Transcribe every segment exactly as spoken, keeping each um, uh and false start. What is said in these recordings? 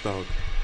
Donnerstag.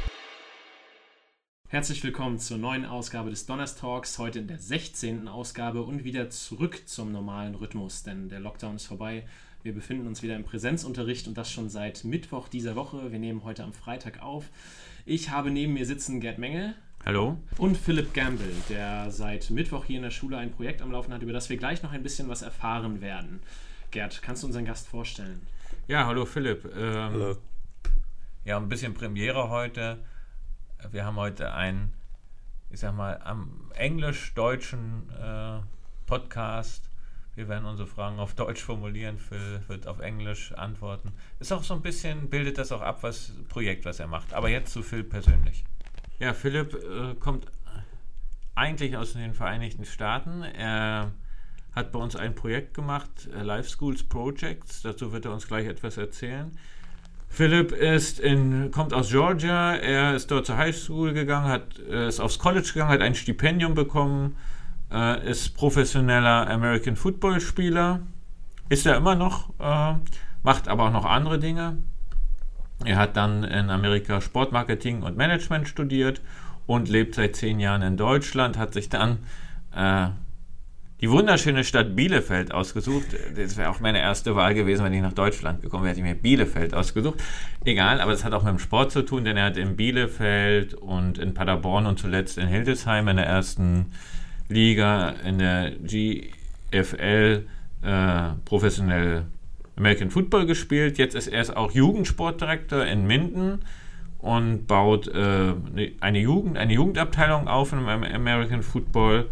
Herzlich willkommen zur neuen Ausgabe des Donnerstalks, heute in der sechzehnten Ausgabe und wieder zurück zum normalen Rhythmus, denn der Lockdown ist vorbei. Wir befinden uns wieder im Präsenzunterricht und das schon seit Mittwoch dieser Woche. Wir nehmen heute am Freitag auf. Ich habe neben mir sitzen Gerd Mengel. Hallo. Und Philipp Gamble, der seit Mittwoch hier in der Schule ein Projekt am Laufen hat, über das wir gleich noch ein bisschen was erfahren werden. Gerd, kannst du unseren Gast vorstellen? Ja, hallo Philipp. Ähm, Hallo. Ja, ein bisschen Premiere heute. Wir haben heute einen, ich sag mal, am englisch-deutschen äh, Podcast. Wir werden unsere Fragen auf Deutsch formulieren, Phil wird auf Englisch antworten. Ist auch so ein bisschen, bildet das auch ab, was Projekt, was er macht. Aber jetzt zu Phil persönlich. Ja, Philipp äh, kommt eigentlich aus den Vereinigten Staaten. Er hat bei uns ein Projekt gemacht, äh, Life Schools Projects. Dazu wird er uns gleich etwas erzählen. Philipp ist in, kommt aus Georgia. Er ist dort zur High School gegangen, hat, äh, ist aufs College gegangen, hat ein Stipendium bekommen, äh, ist professioneller American Football Spieler. Ist er immer noch, äh, macht aber auch noch andere Dinge. Er hat dann in Amerika Sportmarketing und Management studiert und lebt seit zehn Jahren in Deutschland, hat sich dann äh, die wunderschöne Stadt Bielefeld ausgesucht. Das wäre auch meine erste Wahl gewesen, wenn ich nach Deutschland gekommen wäre, hätte ich mir Bielefeld ausgesucht. Egal, aber das hat auch mit dem Sport zu tun, denn er hat in Bielefeld und in Paderborn und zuletzt in Hildesheim in der ersten Liga in der G F L äh, professionell American Football gespielt. Jetzt ist er ist auch Jugendsportdirektor in Minden und baut äh, eine Jugend, eine Jugendabteilung auf im American Football.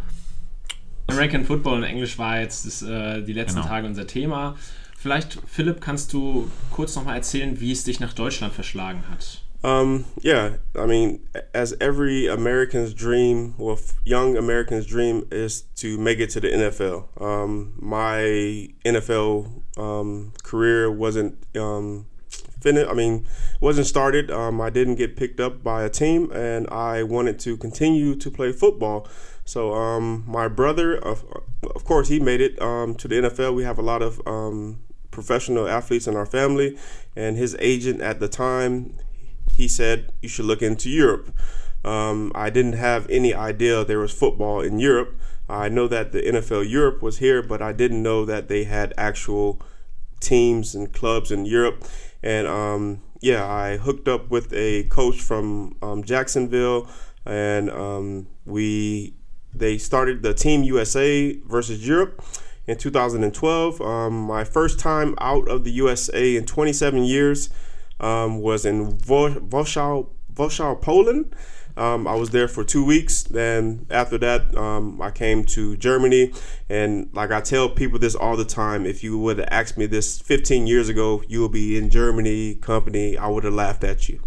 American Football in Englisch war jetzt das, äh, die letzten genau. Tage unser Thema. Vielleicht, Philipp, kannst du kurz nochmal erzählen, wie es dich nach Deutschland verschlagen hat? Um, yeah, I mean, as every American's dream, well, young American's dream is to make it to the N F L. Um, my N F L um, career wasn't um, finished. I mean, wasn't started. Um, I didn't get picked up by a team, and I wanted to continue to play football. So um, my brother, of, of course, he made it um, to the N F L. We have a lot of um, professional athletes in our family, and his agent at the time, he said, you should look into Europe. Um, I didn't have any idea there was football in Europe. I know that the N F L Europe was here, but I didn't know that they had actual teams and clubs in Europe. And um, yeah, I hooked up with a coach from um, Jacksonville, and um, we they started the Team U S A versus Europe in two thousand twelve. Um, my first time out of the U S A in twenty-seven years um, was in Warsaw, Warsaw, Poland. Um, I was there for two weeks. Then after that, um, I came to Germany. And like I tell people this all the time, if you would have asked me this fifteen years ago, you will be in Germany company, I would have laughed at you.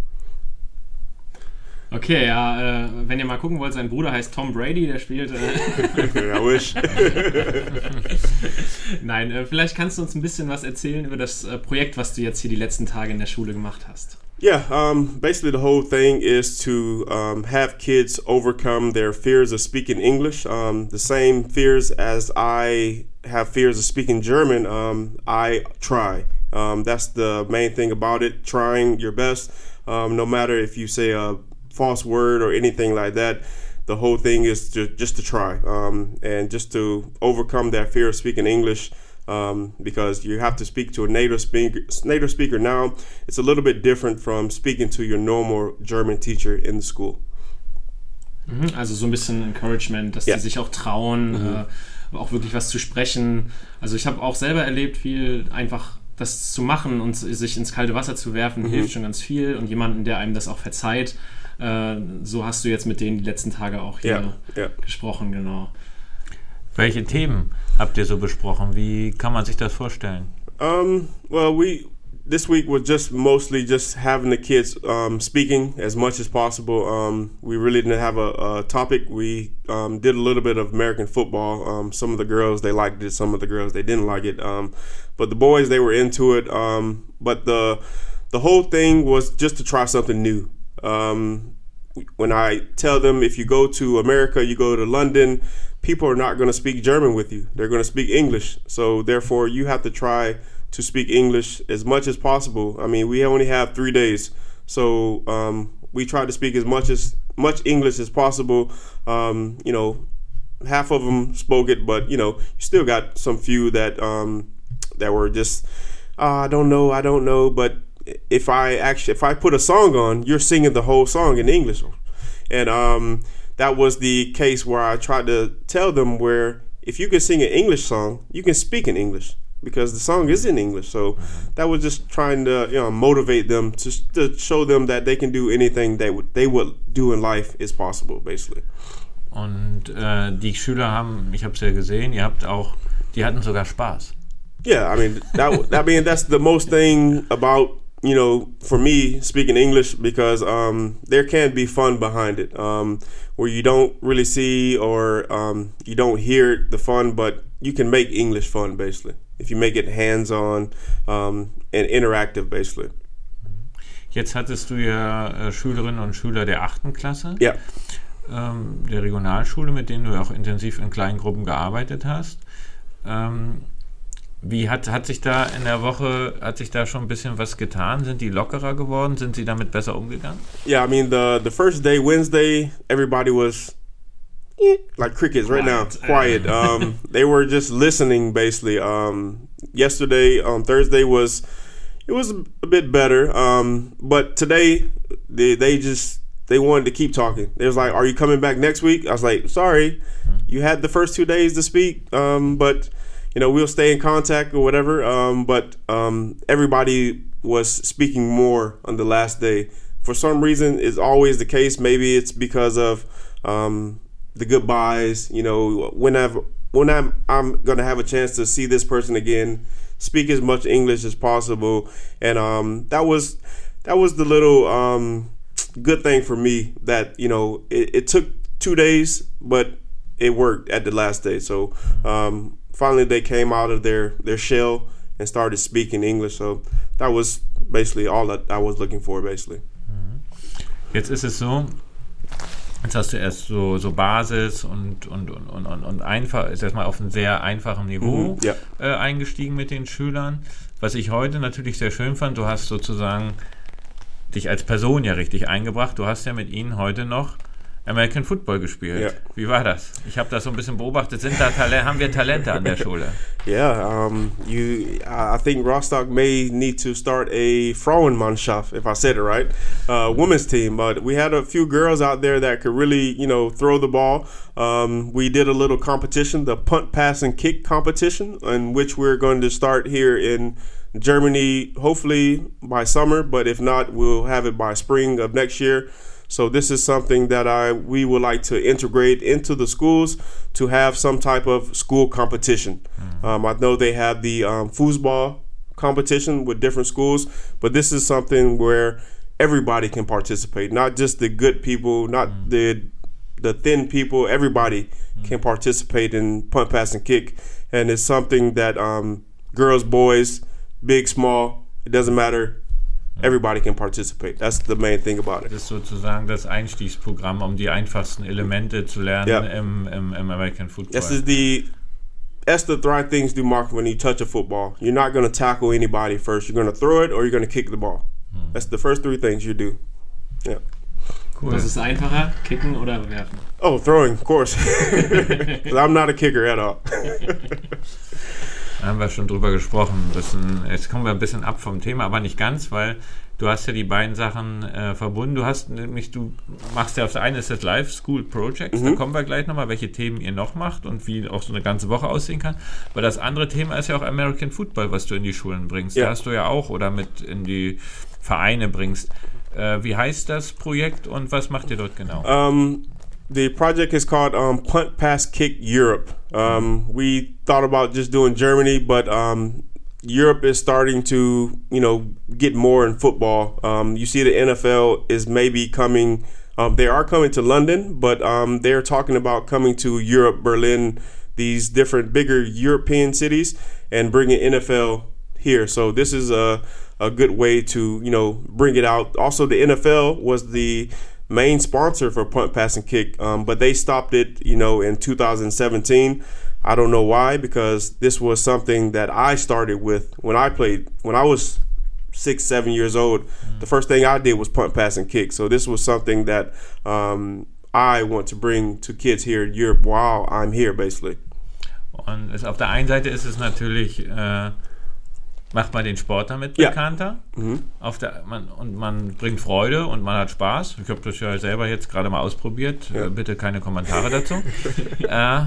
Okay, ja, äh, wenn ihr mal gucken wollt, sein Bruder heißt Tom Brady, der spielt... Äh I wish. Nein, äh, vielleicht kannst du uns ein bisschen was erzählen über das äh, Projekt, was du jetzt hier die letzten Tage in der Schule gemacht hast. Yeah, um, basically the whole thing is to um, have kids overcome their fears of speaking English. Um, the same fears as I have fears of speaking German, um, I try. Um, that's the main thing about it, trying your best. Um, no matter if you say a false word or anything like that, the whole thing is to, just to try um, and just to overcome that fear of speaking English. Um, because you have to speak to a native speaker, native speaker now. It's a little bit different from speaking to your normal German teacher in the school. Also so ein bisschen Encouragement, dass ja. die sich auch trauen, mhm. äh, auch wirklich was zu sprechen. Also ich habe auch selber erlebt, viel einfach das zu machen und sich ins kalte Wasser zu werfen, mhm. hilft schon ganz viel. Und jemanden, der einem das auch verzeiht, äh, so hast du jetzt mit denen die letzten Tage auch hier ja. Ja. gesprochen, genau. Welche Themen habt ihr so besprochen? Wie kann man sich das vorstellen? Um, well, we this week was just mostly just having the kids um, speaking as much as possible. Um, we really didn't have a, a topic. We um, did a little bit of American football. Um, some of the girls, they liked it. Some of the girls, they didn't like it. Um, but the boys, they were into it. Um, but the the whole thing was just to try something new. Um, when I tell them, if you go to America, you go to London, people are not going to speak German with you. They're going to speak English. So therefore, you have to try to speak English as much as possible. I mean, we only have three days. So um, we try to speak as much as much English as possible. Um, you know, half of them spoke it, but you know, you still got some few that um, that were just, oh, I don't know, I don't know. But if I actually, if I put a song on, you're singing the whole song in English, and um, that was the case where I tried to tell them where if you can sing an English song, you can speak in English, because the song is in English. So that was just trying to, you know, motivate them to, to show them that they can do anything that would, they would do in life is possible, basically. Und äh, die Schüler haben, ich habe es ja gesehen, ihr habt auch, die hatten sogar Spaß. Yeah, I mean, that, I mean, that's the most thing about, you know, for me speaking English, because um, there can be fun behind it, um, where you don't really see or um, you don't hear the fun, but you can make English fun, basically, if you make it hands-on um, and interactive, basically. Jetzt hattest du ja äh, Schülerinnen und Schüler der achten Klasse, ja. ähm, der Regionalschule, mit denen du auch intensiv in kleinen Gruppen gearbeitet hast. Ähm, wie hat, hat sich da in der Woche, hat sich da schon ein bisschen was getan? Sind die lockerer geworden? Sind sie damit besser umgegangen? Yeah, I mean, the, the first day, Wednesday, everybody was eh, like crickets right Quiet. now, quiet. Um, they were just listening, basically. Um, yesterday, on um, Thursday, was it was a bit better, um, but today they they just they wanted to keep talking. They was like, "Are you coming back next week?" I was like, "Sorry, you had the first two days to speak, um, but you know we'll stay in contact or whatever." Um, but um, everybody was speaking more on the last day. For some reason, it's always the case. Maybe it's because of um, the goodbyes. You know, when I've when I'm I'm gonna have a chance to see this person again, speak as much English as possible, and um, that was that was the little um, good thing for me, that you know it, it took two days, but it worked at the last day. So um, finally, they came out of their their shell and started speaking English. So that was basically all that I was looking for, basically. Jetzt ist es so, jetzt hast du erst so, so Basis und, und, und, und, und einfach, ist erstmal auf einem sehr einfachen Niveau Mhm, ja. äh, eingestiegen mit den Schülern. Was ich heute natürlich sehr schön fand, du hast sozusagen dich als Person ja richtig eingebracht. Du hast ja mit ihnen heute noch American Football gespielt. Ja. Wie war das? Ich habe das so ein bisschen beobachtet. Sind da Tale- haben wir Talente an der Schule? Yeah, um, you. I think Rostock may need to start a Frauenmannschaft, if I said it right, uh, women's team. But we had a few girls out there that could really, you know, throw the ball. Um, we did a little competition, the punt, pass, and kick competition, in which we're going to start here in Germany, hopefully by summer. But if not, we'll have it by spring of next year. So this is something that I we would like to integrate into the schools, to have some type of school competition. Mm-hmm. Um, I know they have the um, foosball competition with different schools, but this is something where everybody can participate, not just the good people, not mm-hmm. the the thin people. Everybody mm-hmm. can participate in punt, pass, and kick, and it's something that um, girls, boys, big, small, it doesn't matter. Everybody can participate. That's the main thing about it. Das ist sozusagen das Einstiegsprogramm, um die einfachsten Elemente zu lernen yeah. im, im, im American Football. This is the that's the three things to mark when you touch a football. You're not going to tackle anybody first. You're going to throw it or you're going to kick the ball. Hmm. That's the first three things you do. Yeah. Cool. Was ist einfacher, kicken oder werfen? Oh, throwing, of course. Because I'm not a kicker at all. Da haben wir schon drüber gesprochen. Bisschen, jetzt kommen wir ein bisschen ab vom Thema, aber nicht ganz, weil du hast ja die beiden Sachen äh, verbunden. Du hast nämlich, du machst ja auf der einen ist das Live School Projects, mhm. da kommen wir gleich nochmal, welche Themen ihr noch macht und wie auch so eine ganze Woche aussehen kann. Weil das andere Thema ist ja auch American Football, was du in die Schulen bringst. Ja. Da hast du ja auch oder mit in die Vereine bringst. Äh, wie heißt das Projekt und was macht ihr dort genau? Um, the project is called um, Punt, Pass, Kick Europe. Um, we thought about just doing Germany, but um, Europe is starting to, you know, get more in football. Um, you see the N F L is maybe coming, um, they are coming to London, but um, they're talking about coming to Europe, Berlin, these different bigger European cities, and bringing N F L here. So this is a, a good way to, you know, bring it out. Also, the N F L was the main sponsor for punt, pass, and kick, um, but they stopped it, you know, in two thousand seventeen. I don't know why, because this was something that I started with when I played, when I was six, seven years old, mm-hmm. the first thing I did was punt, pass, and kick. So this was something that um, I want to bring to kids here in Europe while I'm here, basically. Und es, auf der einen Seite ist es natürlich, äh, macht man den Sport damit ja. bekannter. Mhm. Auf der, man, und man bringt Freude und man hat Spaß. Ich habe das ja selber jetzt gerade mal ausprobiert. Ja. Äh, bitte keine Kommentare dazu. äh,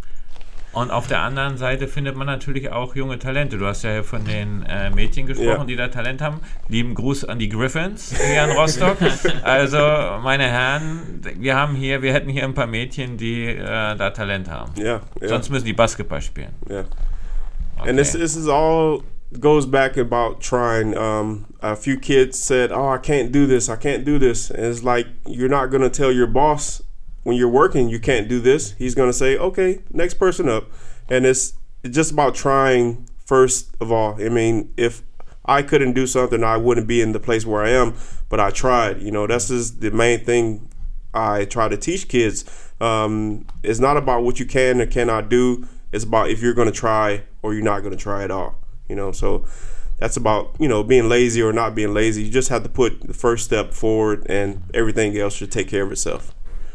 und auf der anderen Seite findet man natürlich auch junge Talente. Du hast ja von den äh, Mädchen gesprochen, ja. die da Talent haben. Lieben Gruß an die Griffins hier in Rostock. Also, meine Herren, wir haben hier, wir hätten hier ein paar Mädchen, die äh, da Talent haben. Ja, ja. Sonst müssen die Basketball spielen. Ja. Okay. And this, this is all goes back about trying. Um, a few kids said, "Oh, I can't do this. I can't do this." And it's like, you're not going to tell your boss when you're working you can't do this. He's going to say, "Okay, next person up." And it's, it's just about trying first of all. I mean, if I couldn't do something, I wouldn't be in the place where I am, but I tried. You know, that's just the main thing I try to teach kids. Um, it's not about what you can or cannot do. It's about if you're going to try or you're not going to try at all. You know, so that's about, you know, being lazy or not being lazy. You just have to put the first step forward and everything else should take care of itself.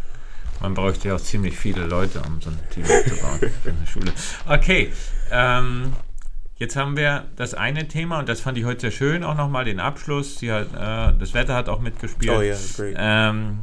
Man bräuchte ja auch ziemlich viele Leute, um so ein Team aufzubauen in der Schule. Okay, ähm, jetzt haben wir das eine Thema und das fand ich heute sehr schön, auch nochmal den Abschluss. Sie hat, äh, das Wetter hat auch mitgespielt. Oh yeah, that's great. Ähm,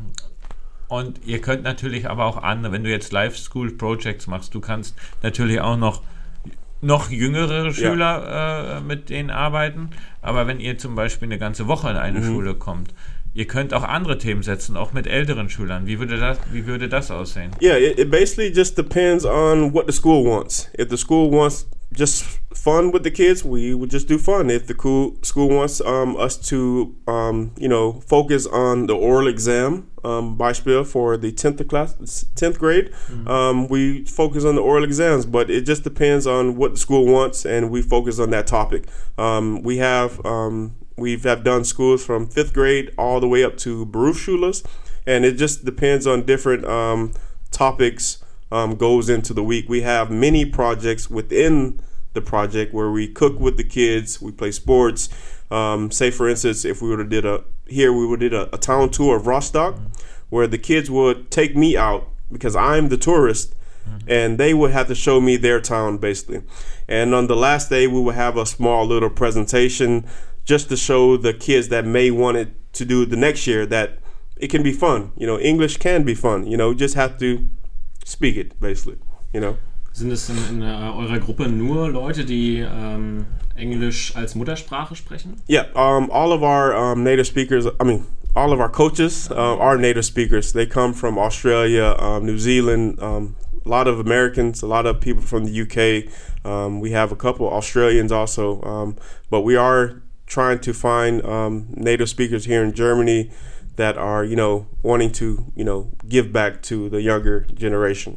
und ihr könnt natürlich aber auch andere, wenn du jetzt Live School Projects machst, du kannst natürlich auch noch noch jüngere Schüler ja. äh, mit denen arbeiten, aber wenn ihr zum Beispiel eine ganze Woche in eine mhm. Schule kommt, ihr könnt auch andere Themen setzen, auch mit älteren Schülern. Wie würde das, wie würde das aussehen? Yeah, it, it basically just depends on what the school wants. If the school wants just fun with the kids, we would just do fun. If the cool school wants um, us to, um, you know, focus on the oral exam, um, Beispiel for the tenth class, tenth grade, mm-hmm. um, we focus on the oral exams. But it just depends on what the school wants, and we focus on that topic. Um, we have um, we've have done schools from fifth grade all the way up to Berufsschulas, and it just depends on different um, topics. Um, goes into the week. We have many projects within the project where we cook with the kids, we play sports. Um, say for instance, if we would have did a here, we would did a, a town tour of Rostock, mm-hmm. where the kids would take me out because I'm the tourist, mm-hmm. and they would have to show me their town basically. And on the last day, we would have a small little presentation just to show the kids that may want it to do the next year that it can be fun. You know, English can be fun. You know, you just have to speak it, basically, you know. Sind es in, in uh, eurer Gruppe nur Leute, die um, Englisch als Muttersprache sprechen? Yeah, um, all of our um, native speakers, I mean, all of our coaches uh, are native speakers. They come from Australia, um, New Zealand, um, a lot of Americans, a lot of people from the U K. Um, we have a couple Australians also, um, but we are trying to find um, native speakers here in Germany that are, you know, wanting to, you know, give back to the younger generation.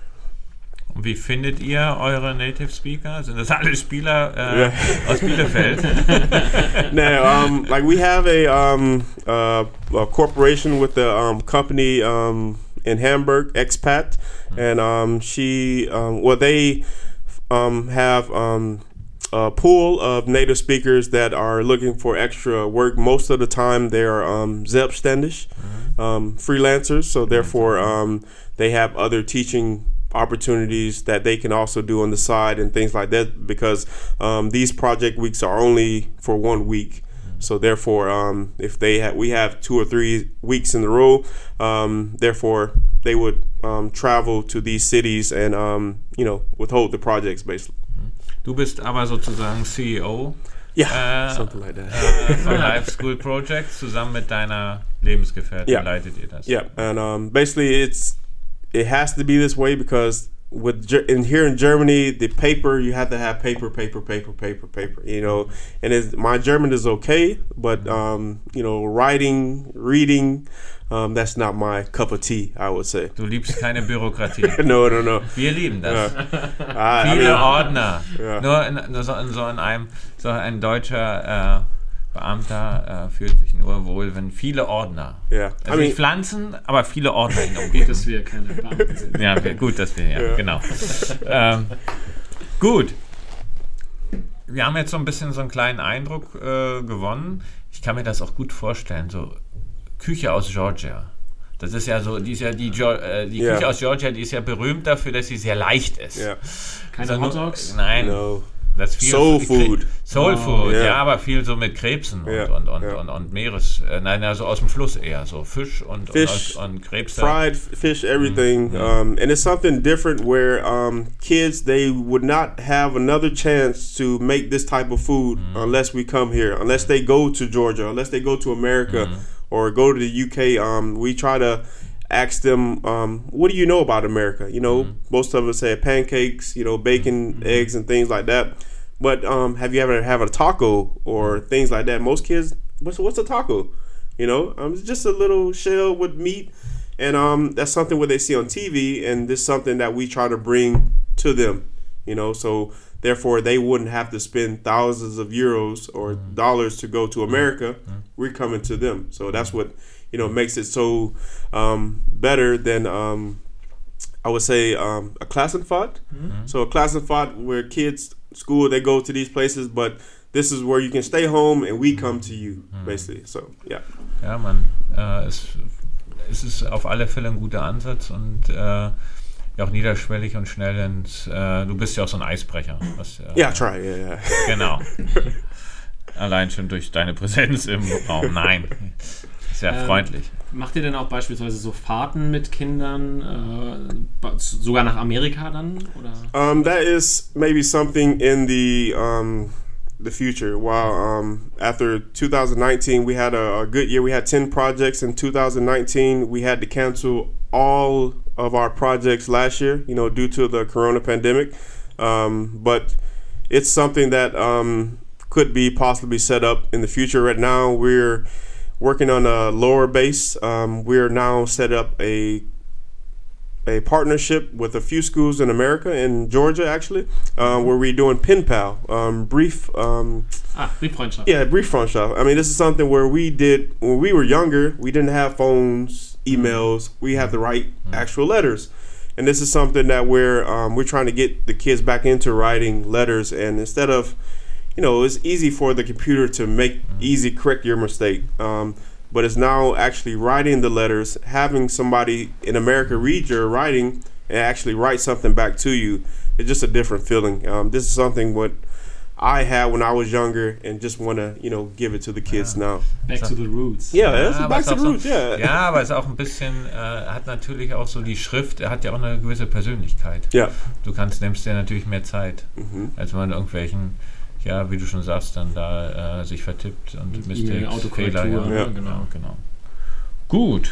Und wie findet ihr eure Native Speaker? Sind das alle Spieler äh, yeah. aus Bielefeld? No, um, like we have a, um, uh, a corporation with the um, company um, in Hamburg, Expat, mm-hmm. and um, she, um, well, they um, have um, a pool of native speakers that are looking for extra work. Most of the time, they are um, selbstständig, mm-hmm. um, freelancers. So therefore, um, they have other teaching opportunities that they can also do on the side and things like that. Because um, these project weeks are only for one week. Mm-hmm. So therefore, um, if they ha- we have two or three weeks in a row, um, therefore they would um, travel to these cities and um, you know, withhold the projects basically. Du bist aber sozusagen C E O yeah, äh, something like that. äh, von Live School Projects. Zusammen mit deiner Lebensgefährtin yeah. leitet ihr das. Yeah, and um, basically it's it has to be this way because with in here in Germany, the paper you have to have paper, paper, paper, paper, paper. You know, and it's, my German is okay, but um, you know, writing, reading. Um, that's not my cup of tea, I would say. Du liebst keine Bürokratie. no, no, no. Wir lieben das. Ja. Viele I mean, Ordner. Ja. Nur in, in, so, in so in einem, so ein deutscher äh, Beamter äh, fühlt sich nur wohl, wenn viele Ordner. Yeah. Also I mean, nicht Pflanzen, aber viele Ordner in der Gut, dass wir keine Beamten sind. Ja, gut, dass wir, ja, ja. genau. ähm, gut. wir haben jetzt so ein bisschen so einen kleinen Eindruck äh, gewonnen. Ich kann mir das auch gut vorstellen, so Küche aus Georgia. Das ist ja so, die, ist ja die, äh, die yeah. Küche aus Georgia, die ist ja berühmt dafür, dass sie sehr leicht ist. Yeah. Keine also, Hot Dogs? Nein. No. Das viel, Soul Food. Soul Food, oh, yeah. ja, aber viel so mit Krebsen und, yeah. und, und, yeah. und, und Meeres, äh, nein, also aus dem Fluss eher, so Fisch und, Fish, und, und Krebse. Fried fish, everything. Mm-hmm. Um, and it's something different where um, kids, they would not have another chance to make this type of food mm-hmm. unless we come here, unless they go to Georgia, unless they go to America mm-hmm. or go to the U K. Um, we try to ask them, um, what do you know about America? You know, mm-hmm. most of us say pancakes, you know, bacon, mm-hmm. eggs, and things like that. But um, have you ever had a taco or things like that? Most kids, what's what's a taco? You know, um, it's just a little shell with meat, and um, that's something what they see on T V, and this is something that we try to bring to them. You know, so therefore they wouldn't have to spend thousands of euros or mm-hmm. dollars to go to America. Mm-hmm. We're coming to them, so that's what you know makes it so um, better than. Um, I would say um, a Klassenfahrt. Mm-hmm. So a Klassenfahrt where kids school they go to these places, but this is where you can stay home and we come to you, mm-hmm. basically. So yeah. Ja, man, äh, es, es ist auf alle Fälle ein guter Ansatz und äh, ja auch niederschwellig und schnell. Ins, äh, du bist ja auch so ein Eisbrecher. Was, äh, yeah, try, yeah, yeah. Genau. Allein schon durch deine Präsenz im Raum. Nein. Sehr ähm, freundlich. Macht ihr denn auch beispielsweise so Fahrten mit Kindern, äh, sogar nach Amerika dann? Oder? Um, that is maybe something in the um, the future. While um, after two thousand nineteen, we had a, a good year. We had ten projects in two thousand nineteen. We had to cancel all of our projects last year, you know, due to the corona pandemic. Um, but it's something that um, could be possibly set up in the future. Right now, we're working on a lower base. Um, we're now set up a a partnership with a few schools in America, in Georgia actually, uh, where we're doing pen pal, um, brief. Um, ah, Brieffreundschaft. Yeah, Brieffreundschaft. I mean, this is something where we did when we were younger. We didn't have phones, emails. We had to write actual letters, and this is something that we're um, we're trying to get the kids back into writing letters, and instead of you know, it's easy for the computer to make easy correct your mistake. Um, but it's now actually writing the letters, having somebody in America read your writing and actually write something back to you. It's just a different feeling. Um, this is something what I had when I was younger and just want to, you know, give it to the kids ja. now. Back to the roots. Yeah, ja, that's back to the roots, so, yeah. Ja, aber es ist auch ein bisschen, äh, hat natürlich auch so die Schrift, er hat ja auch eine gewisse Persönlichkeit. Ja. Du kannst, nimmst dir natürlich mehr Zeit, mhm. als man irgendwelchen ja, wie du schon sagst, dann da äh, sich vertippt und Mistakes, Fehler. Ja, ja, genau. genau. genau. Gut.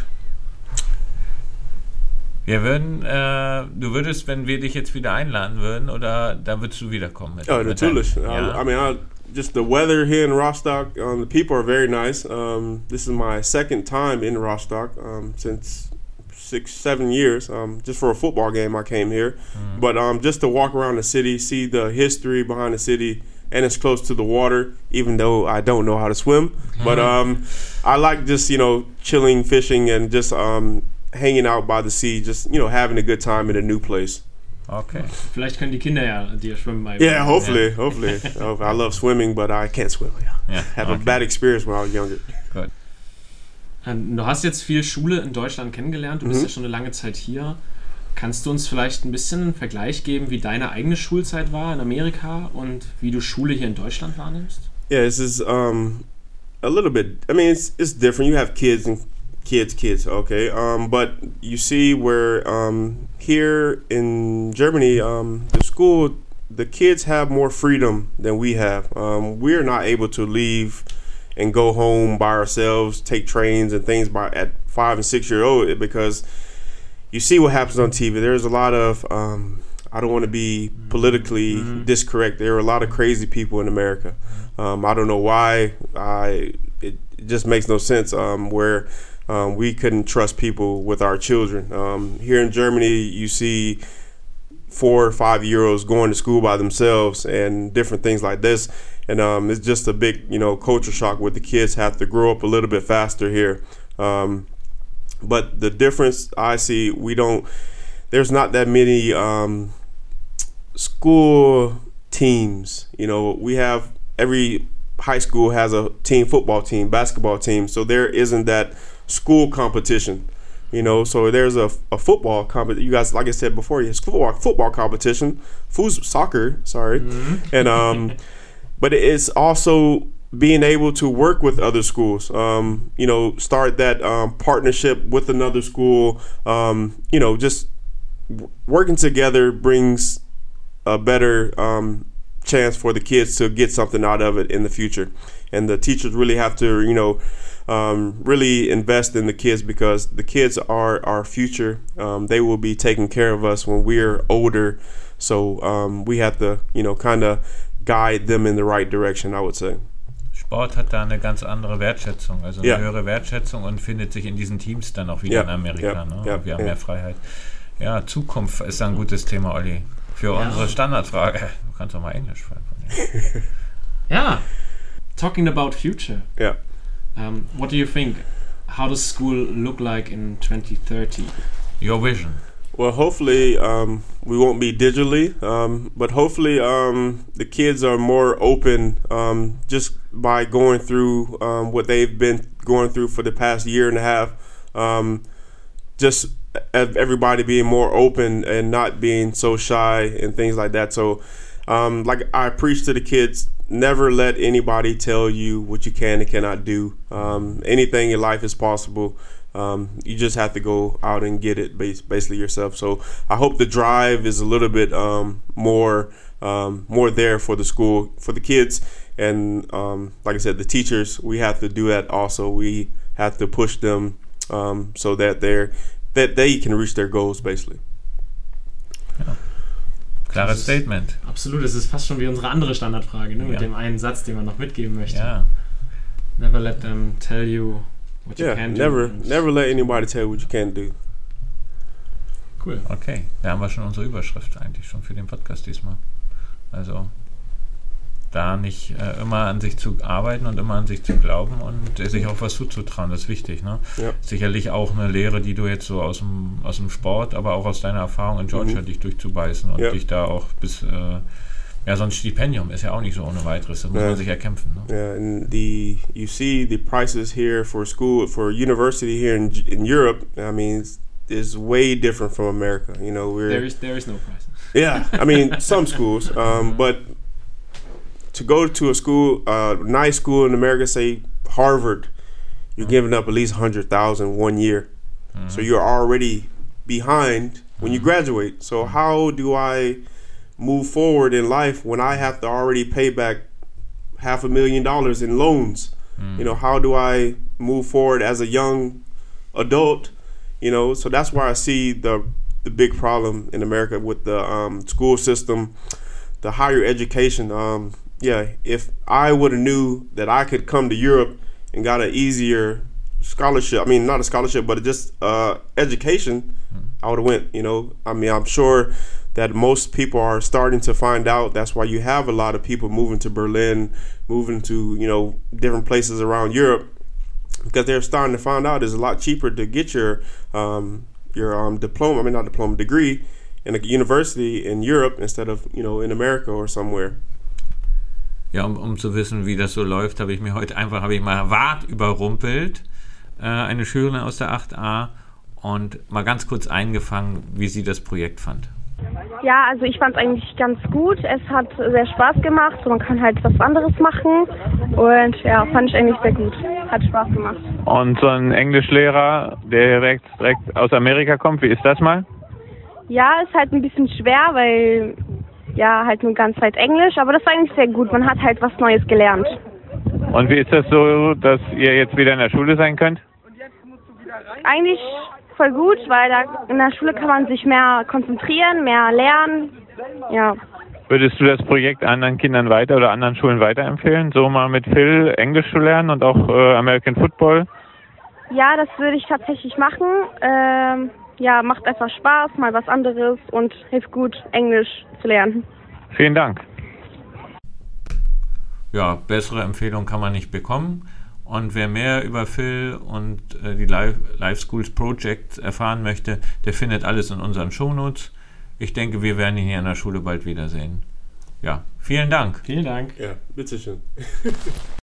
Wir würden, äh, du würdest, wenn wir dich jetzt wieder einladen würden, oder da würdest du wiederkommen? Mit, oh, mit natürlich. Deinem, ja. I, I mean, I, just the weather here in Rostock, um, the people are very nice. Um, this is my second time in Rostock um, since six, seven years. Um, just for a football game, I came here. Mm. But um, just to walk around the city, see the history behind the city, and it's close to the water, even though I don't know how to swim. Mm-hmm. But um, I like just, you know, chilling, fishing, and just um, hanging out by the sea, just, you know, having a good time in a new place. Okay. Vielleicht können die Kinder ja dir schwimmen beibringen. Yeah, hopefully, yeah. hopefully. I love swimming, but I can't swim. Yeah. Have Okay. a bad experience when I was younger. Good. Du hast jetzt viel Schule in Deutschland kennengelernt, du bist Mhm. ja schon eine lange Zeit hier. Kannst du uns vielleicht ein bisschen einen Vergleich geben, wie deine eigene Schulzeit war in Amerika und wie du Schule hier in Deutschland wahrnimmst? Yeah, this is um, a little bit. I mean, it's it's different. You have kids and kids, kids. Okay, um, but you see where um, here in Germany, um, the school, the kids have more freedom than we have. Um, we're not able to leave and go home by ourselves, take trains and things by at five and six year old because you see what happens on T V. There's a lot of, um, I don't want to be politically mm-hmm. discorrect. There are a lot of crazy people in America. Um, I don't know why. I it, it just makes no sense um, where um, we couldn't trust people with our children. Um, here in Germany, you see four or five year olds going to school by themselves and different things like this. And um, it's just a big, you know, culture shock where the kids have to grow up a little bit faster here. Um, But the difference I see, we don't, there's not that many um, school teams. You know, we have every high school has a team football team, basketball team, so there isn't that school competition. You know, so there's a, a football competition. You guys, like I said before, it's football football competition, foos soccer, sorry, mm-hmm. and um, but it's also being able to work with other schools. Um, you know, start that um, partnership with another school. Um, you know, just w- working together brings a better um, chance for the kids to get something out of it in the future, and the teachers really have to, you know. Um, really invest in the kids because the kids are our future. Um, they will be taking care of us when we're older. So um, we have to, you know, kind of guide them in the right direction, I would say. Sport hat da eine ganz andere Wertschätzung, also eine ja. höhere Wertschätzung und findet sich in diesen Teams dann auch wieder ja. in Amerika. Ja. Ne? Ja. Wir haben ja. mehr Freiheit. Ja, Zukunft ist ein gutes Thema, Olli. Für ja. unsere Standardfrage. Du kannst doch mal Englisch schreiben. Ja, talking about future. Ja. Um, what do you think? How does school look like in twenty thirty? Your vision. Well, hopefully um, we won't be digitally, um, but hopefully um, the kids are more open um, just by going through um, what they've been going through for the past year and a half. Um, just everybody being more open and not being so shy and things like that. So, um, like I preach to the kids, never let anybody tell you what you can and cannot do. Um, anything in life is possible. Um, you just have to go out and get it bas- basically yourself. So I hope the drive is a little bit um, more um, more there for the school, for the kids. And um, like I said, the teachers, we have to do that also. We have to push them um, so that they're that they can reach their goals basically. Ja. Klares Statement. Absolut, es ist fast schon wie unsere andere Standardfrage, ne? Ja. Mit dem einen Satz, den man noch mitgeben möchte. Ja. Never let them tell you what yeah, you can never, do. Never let anybody tell you what you can't do. Cool. Okay, da haben wir schon unsere Überschrift eigentlich schon für den Podcast diesmal. Also da nicht äh, immer an sich zu arbeiten und immer an sich zu glauben und äh, sich auch was zuzutrauen, das ist wichtig. Ne? Ja. Sicherlich auch eine Lehre, die du jetzt so aus dem, aus dem Sport, aber auch aus deiner Erfahrung in Georgia, mhm. dich durchzubeißen und ja. dich da auch bis, äh, ja, so ein Stipendium ist ja auch nicht so ohne weiteres, das muss ja. man sich erkämpfen. Ne? Yeah, and the you see the prices here for school, for university here in in Europe, I mean, it's, is way different from America. You know, we're there is there is no price. Yeah, I mean some schools, um, but to go to a school, uh, nice school in America, say Harvard, you're mm-hmm. giving up at least a hundred thousand one year, mm-hmm. so you're already behind when mm-hmm. you graduate. So how do I move forward in life when I have to already pay back half a million dollars in loans? Mm-hmm. You know, how do I move forward as a young adult? You know, so that's why I see the the big problem in America with the um, school system, the higher education. Um, yeah, if I would have knew that I could come to Europe and got an easier scholarship, I mean, not a scholarship, but just uh, education, mm-hmm. I would have went, you know. I mean, I'm sure that most people are starting to find out. That's why you have a lot of people moving to Berlin, moving to, you know, different places around Europe, because they're starting to find out it's a lot cheaper to get your um, your um, diploma, I mean, not diploma, degree in a university in Europe instead of, you know, in America or somewhere. Ja, um, um zu wissen, wie das so läuft, habe ich mir heute einfach, habe ich mal Wart überrumpelt, äh, eine Schülerin aus der acht a, und mal ganz kurz eingefangen, wie sie das Projekt fand. Ja, also ich fand es eigentlich ganz gut. Es hat sehr Spaß gemacht. Man kann halt was anderes machen. Und ja, fand ich eigentlich sehr gut. Hat Spaß gemacht. Und so ein Englischlehrer, der direkt, direkt aus Amerika kommt, wie ist das mal? Ja, ist halt ein bisschen schwer, weil ja, halt nur ganz Zeit Englisch. Aber das war eigentlich sehr gut. Man hat halt was Neues gelernt. Und wie ist das so, dass ihr jetzt wieder in der Schule sein könnt? Eigentlich voll gut, weil da in der Schule kann man sich mehr konzentrieren, mehr lernen. Ja. Würdest du das Projekt anderen Kindern weiter oder anderen Schulen weiterempfehlen, so mal mit Phil Englisch zu lernen und auch äh, American Football? Ja, das würde ich tatsächlich machen. Ähm, ja, macht einfach Spaß, mal was anderes und hilft gut, Englisch zu lernen. Vielen Dank. Ja, bessere Empfehlung kann man nicht bekommen. Und wer mehr über Phil und äh, die Live, Live Schools Project erfahren möchte, der findet alles in unseren Shownotes. Ich denke, wir werden ihn hier in der Schule bald wiedersehen. Ja. ja, vielen Dank. Vielen Dank. Ja, bitteschön.